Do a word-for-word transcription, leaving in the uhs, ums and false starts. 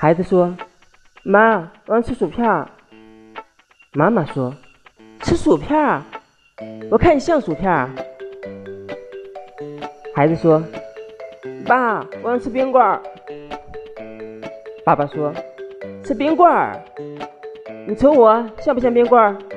孩子说：“妈，我要吃薯片。”妈妈说：“吃薯片？我看你像薯片。”孩子说：“爸，我要吃冰棍。”爸爸说：“吃冰棍？你瞅我像不像冰棍？”